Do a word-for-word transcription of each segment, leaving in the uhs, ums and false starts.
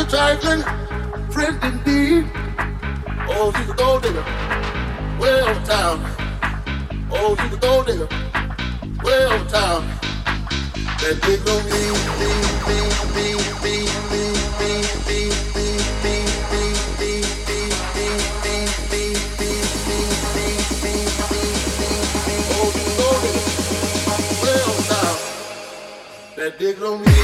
trifling friend indeed. Oh, she's a gold digger, way over town. Oh, she's a gold digger, way over town. That big on me, me, me, me, me, me, me, me, me, me, me, me, me, me, me, me, me, me, me, me. Oh, she's a gold digger, way over town. That big on me.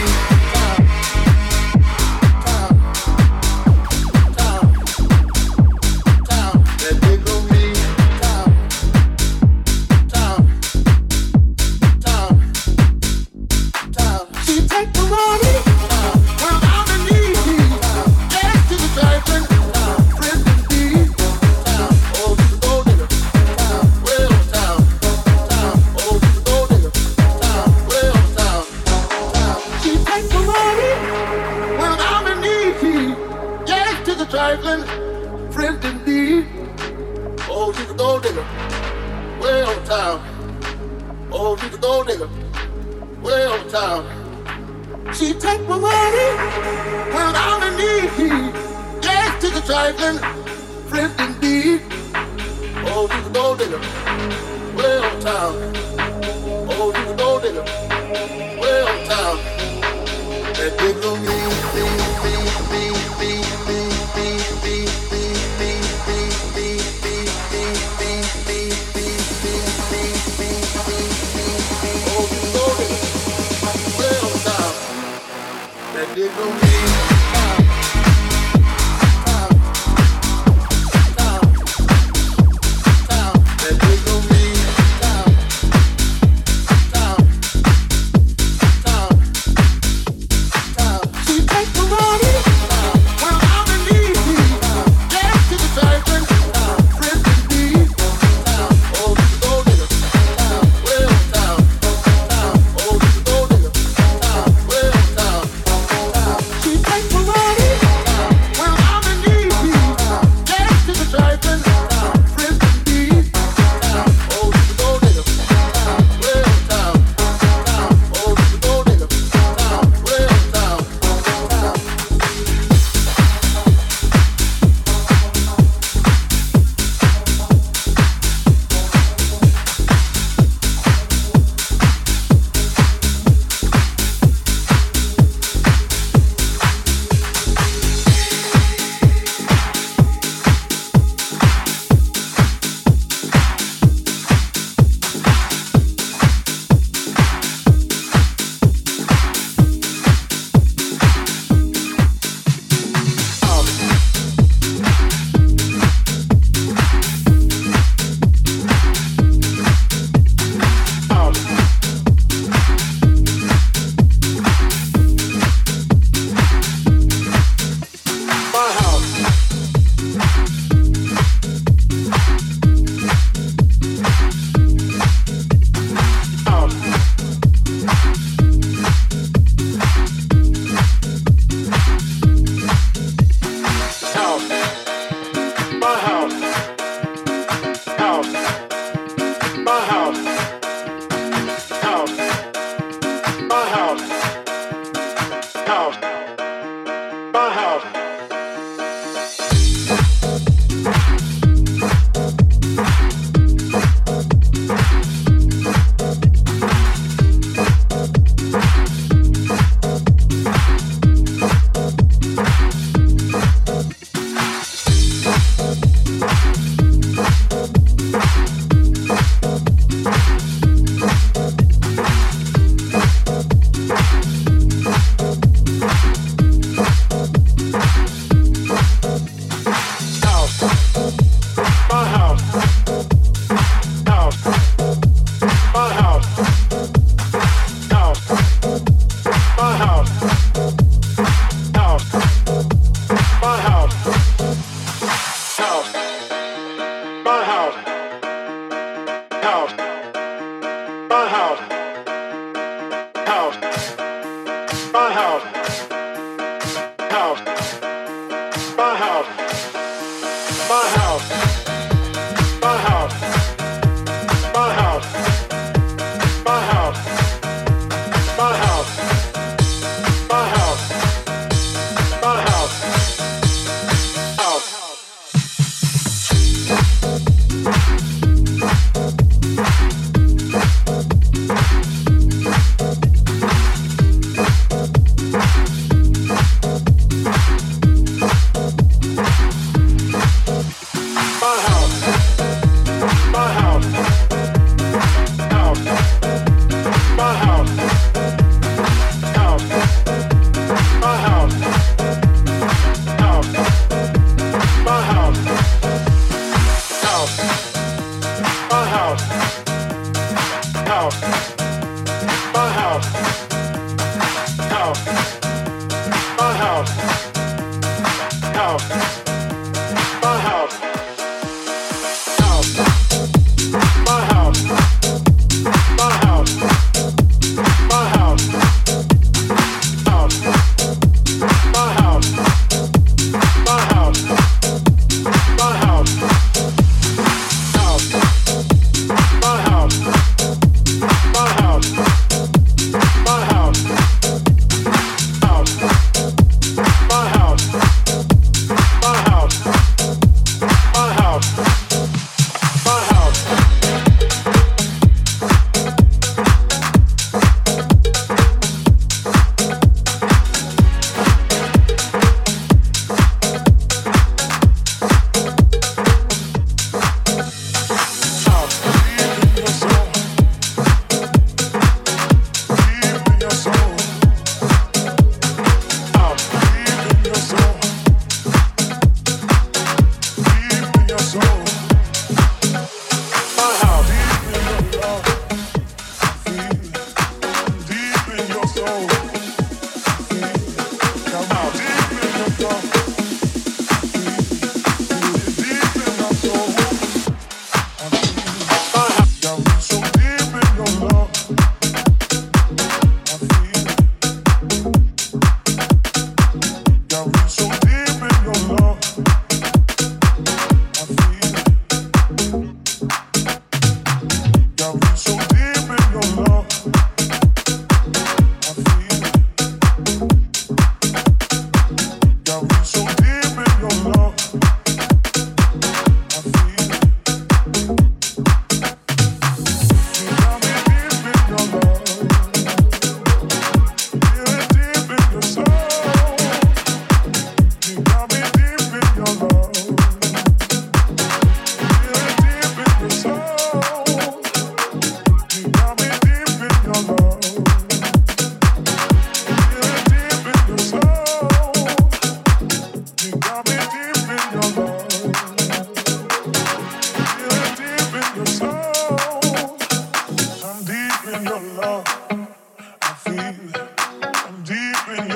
Trifling friend indeed. Oh, she's a gold digger, way over town. Oh, she's a gold digger, way over town. She take my money when I'm in need. Yes, she's a trifling friend indeed. Oh, she's a gold digger, way over town. Oh, she's a gold digger, way over town. That digger on me, me, me, me, me, me. That dig on me. My house.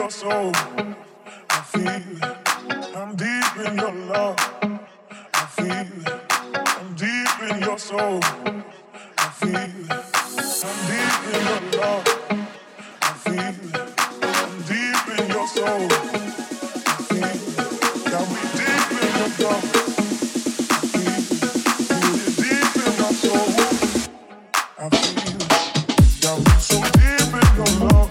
your soul. I feel it. I'm deep in your love. I feel it. I'm deep in your soul. I feel it. I'm deep in your love. I feel it. I'm deep in your soul. I feel it. Got me deep in your love. I feel it. Feel it deep in my soul. I feel it. Got me so deep in your love.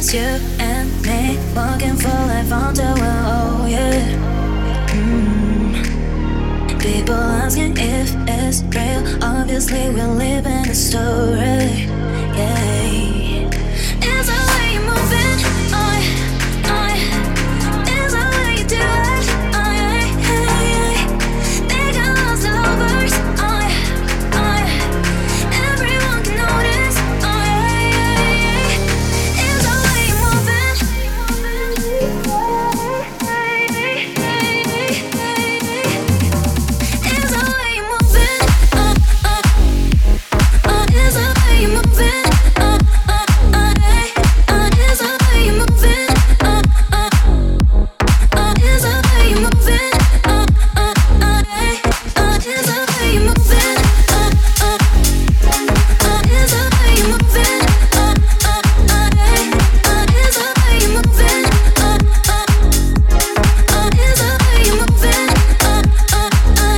promise you and me walking for life on the wall, oh yeah. Mm. People asking if it's real, obviously we're living a story, yeah. Is the way you're moving, oh, oh. Is the way you do it, oh, yeah, yeah, yeah. They got lost in lovers, oh, oh. Everyone can notice, oh, yeah, yeah, yeah. Is the way you're moving, is the way you're moving, oh, oh. Oh, is the way you're moving, oh, oh, oh, yeah. Oh, is the way you're moving, oh, oh. Oh, is the way you're moving, oh, oh, oh, yeah. Oh, is the way you're moving, oh, oh. Oh, is the way you're moving, oh, oh, oh, yeah. Oh, is the way you're moving, oh, oh. Oh, is the way you're moving, oh, oh, oh,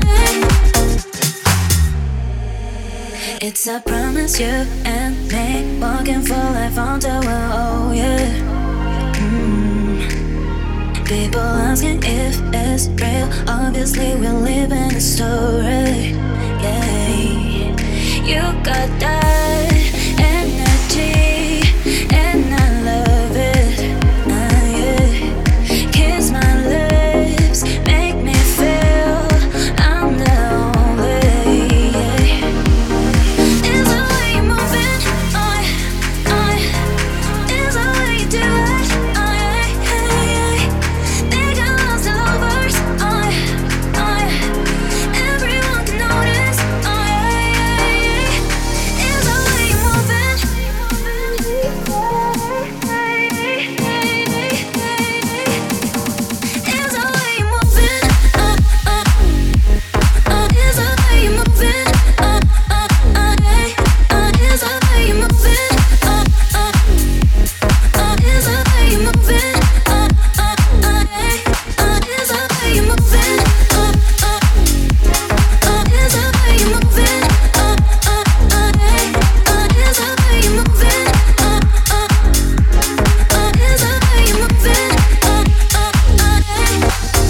yeah. It's a promise you and me walking for life on the wall, oh yeah. Mm. People asking if it's real, obviously we're living a story, yeah. You got that energy and I love it, uh, yeah. Kiss my lips, make me feel I'm the only, yeah. Is the way you're moving, oh, oh. Is the way you do it, oh, yeah, yeah, yeah. They got lost in lovers, oh, oh. Everyone can notice, oh, yeah, yeah, yeah. Is the way you're moving, is the way you're moving, oh, oh. Oh, is the way you're moving, oh, oh, oh, yeah. Oh, is the way you're moving, oh, oh. Oh, is the way you're moving, oh, oh, oh, yeah. Oh, is the way you're moving, oh, oh. Oh, is the way you're moving, oh, oh, oh, yeah. Oh, is the way you're moving, oh, oh. Oh, is the way you're moving, oh, oh,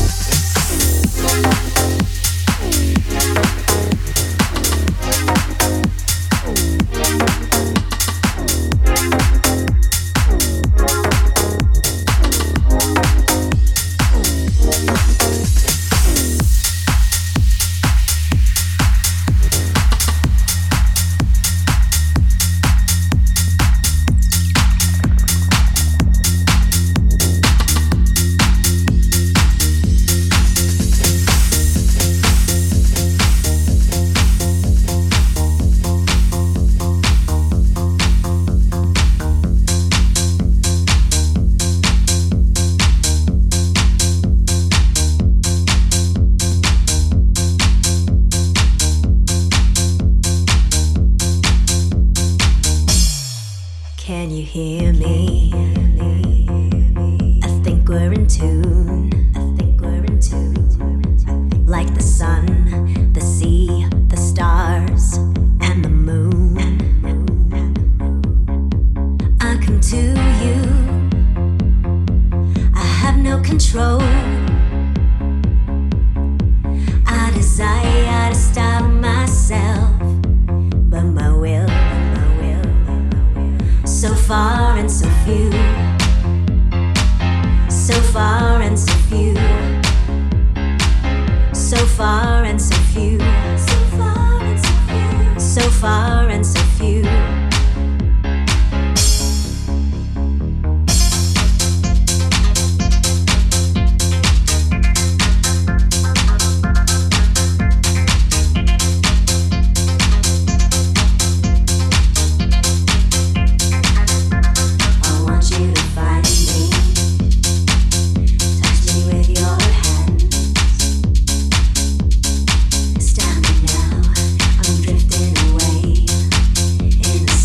Can you hear me? I think we're in tune. I think we're in tune. Like the sun, the sea, the stars, and the moon. I come to you. I have no control. I desire to stop myself, but my will, my will, so far and so few, so far and so few, so far and so few, so far and so few, so far and so few. Standing now, I'm drifting away in the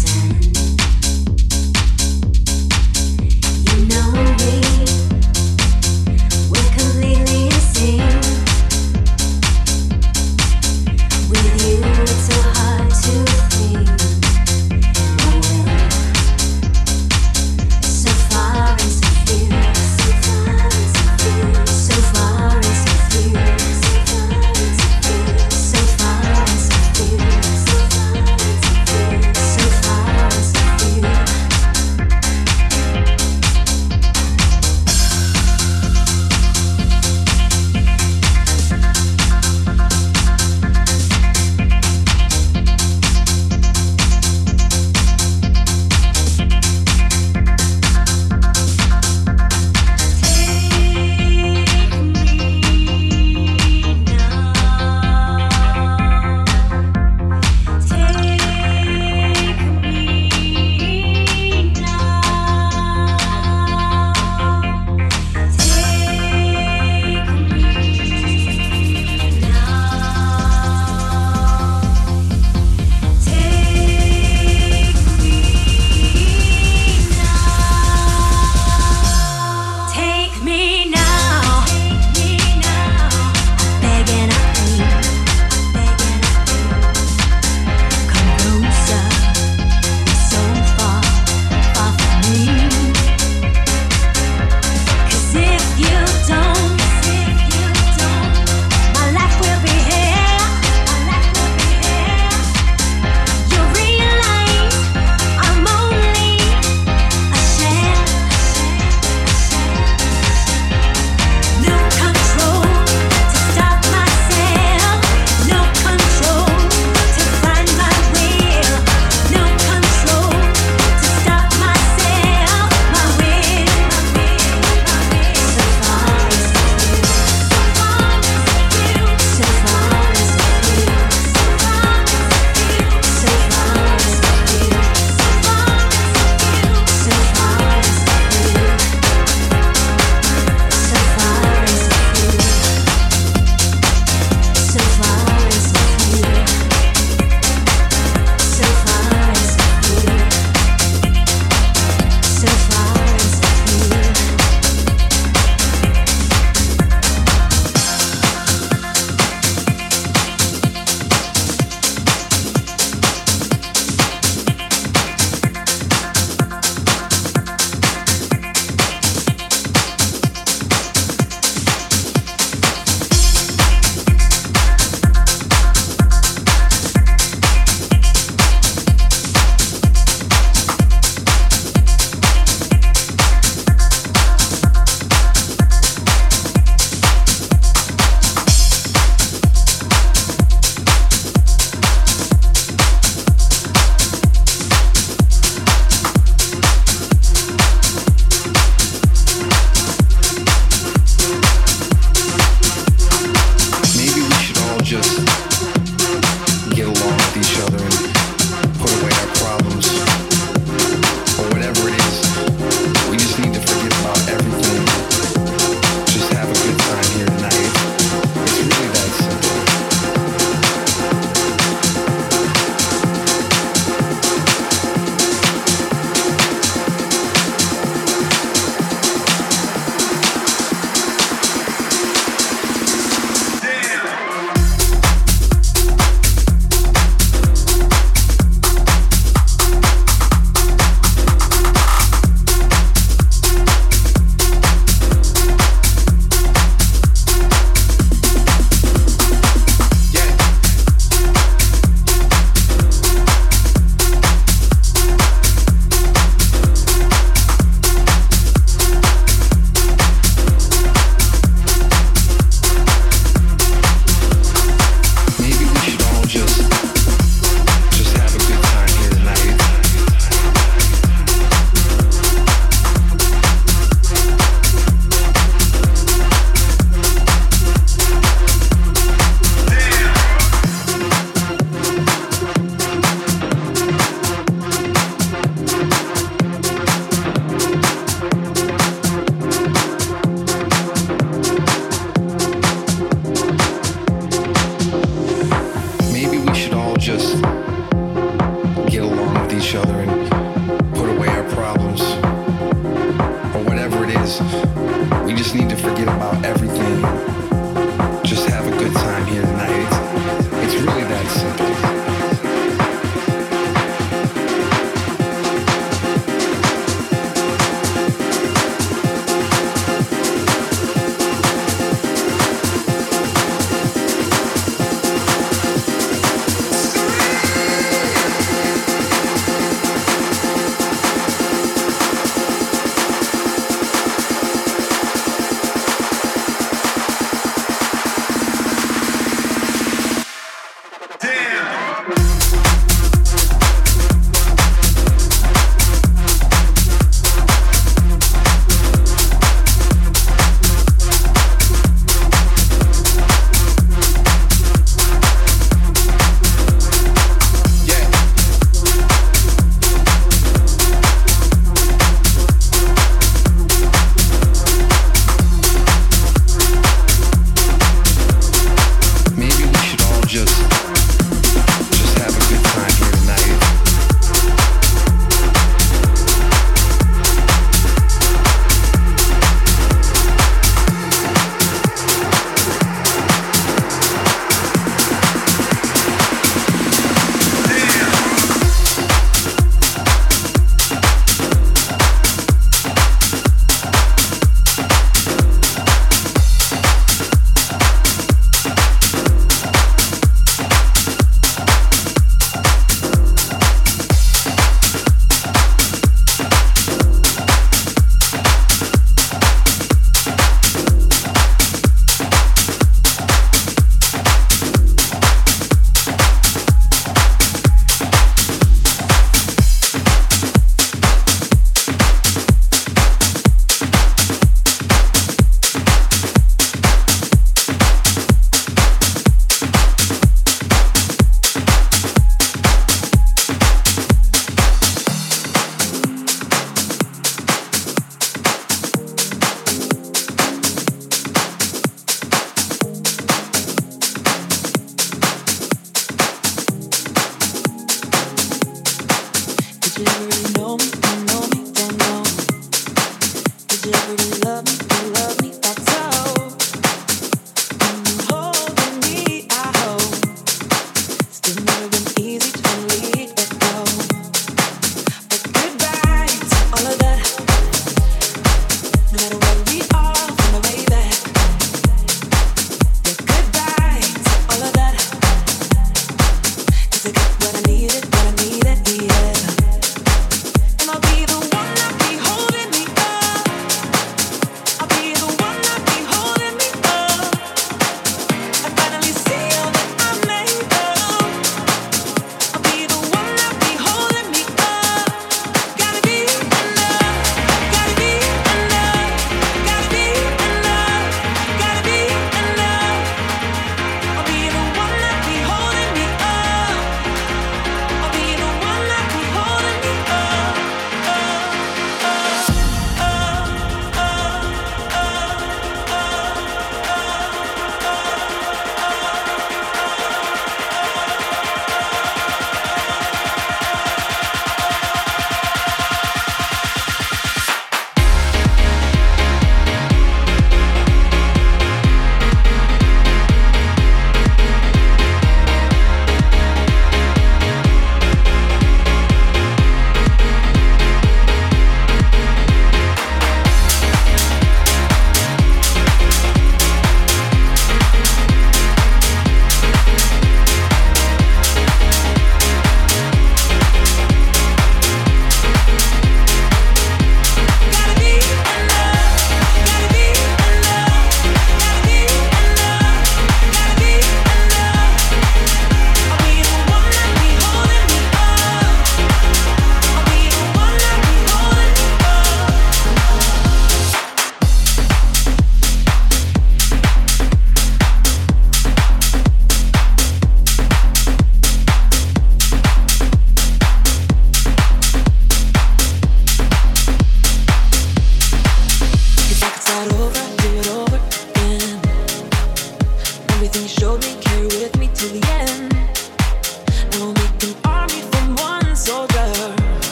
just need to forget about everything. Just have a good time here tonight. It's, it's really that simple.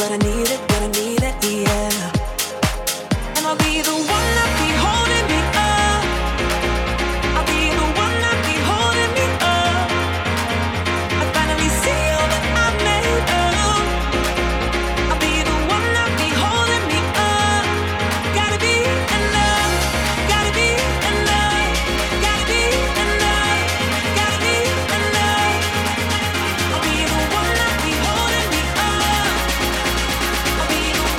but I need it, but I need it, yeah. And I'll be the one that be holding me up. I'll be the one that be holding me up. I finally see all that I've made of. I'll be the one that be holding me up. Gotta be enough, gotta be enough, gotta be enough, gotta be enough. I'll be the one that be holding me up. I'll be the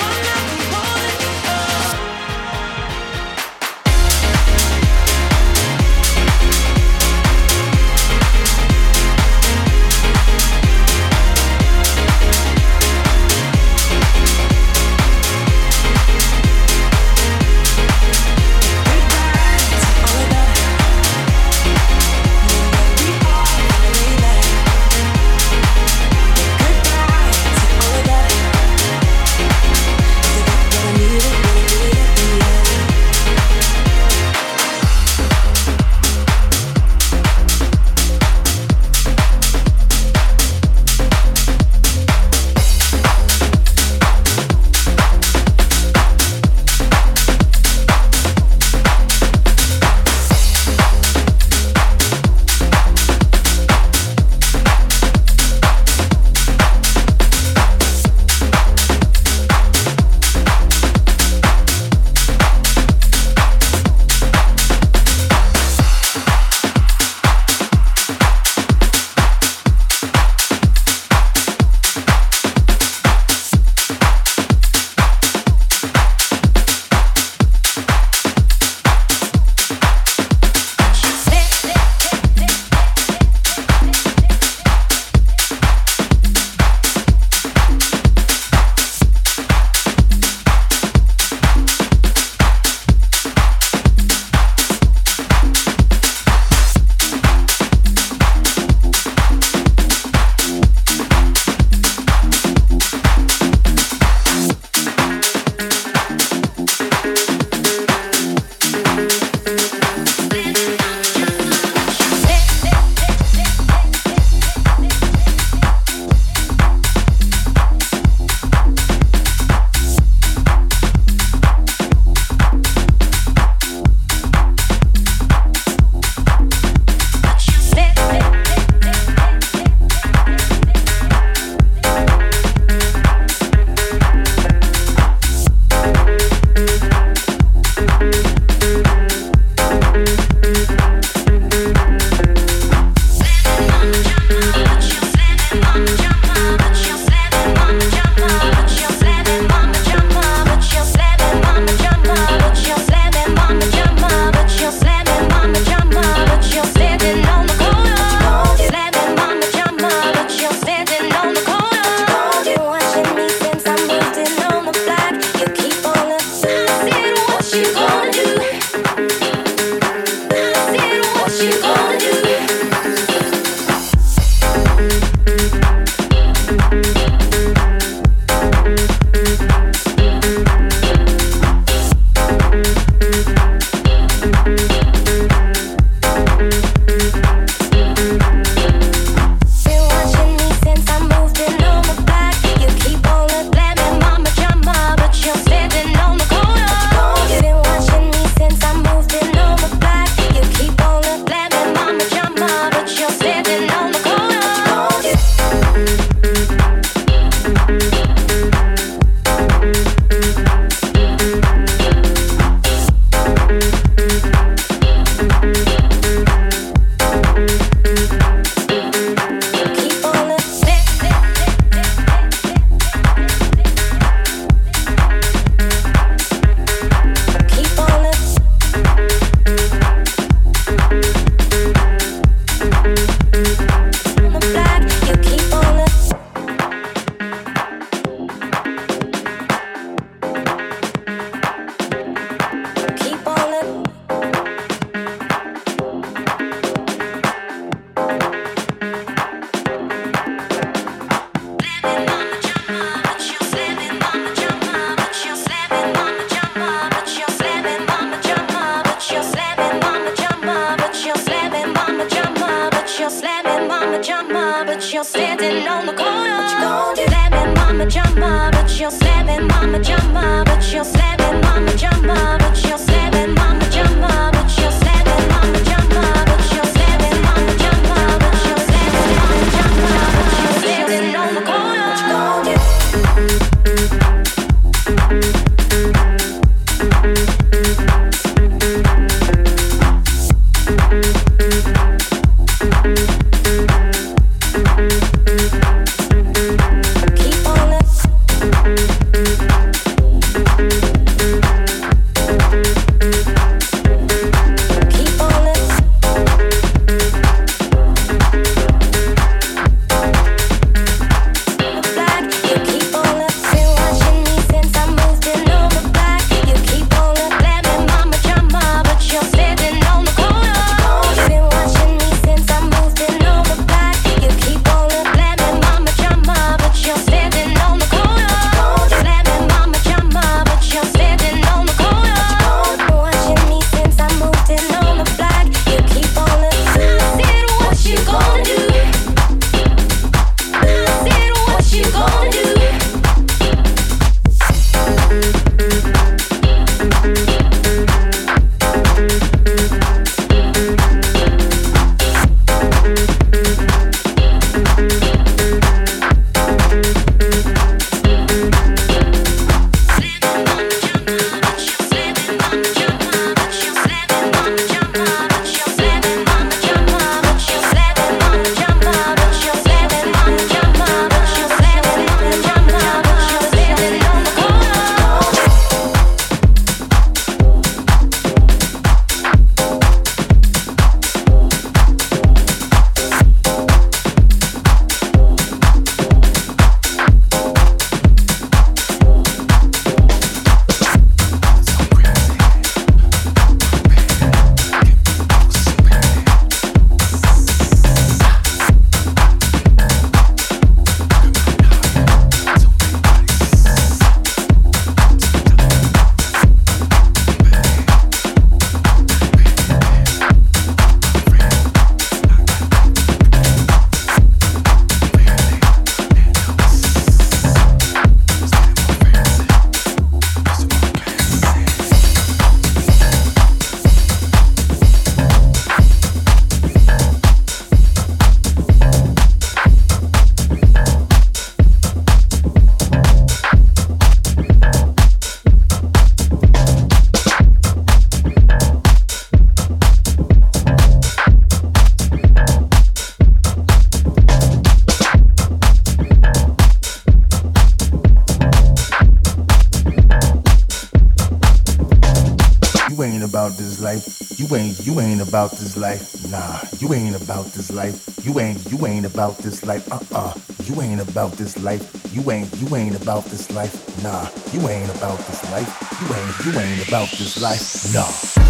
about this life. You ain't, you ain't about this life. Nah, you ain't about this life. You ain't, you ain't about this life. Uh-uh. You ain't about this life. You ain't, you ain't about this life. Nah, you ain't about this life. You ain't, you ain't about this life. Nah.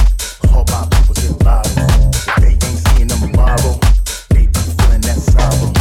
Sorrow.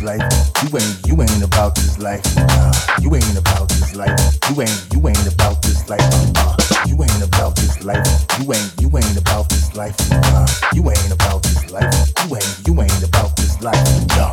life. You ain't, you ain't about this life. Nah, you ain't about this life. You ain't, you ain't about this life. Uh-uh. You ain't about this life. You ain't, you ain't about this life. Nah, you ain't about this life. You ain't, you ain't about this life. Nah.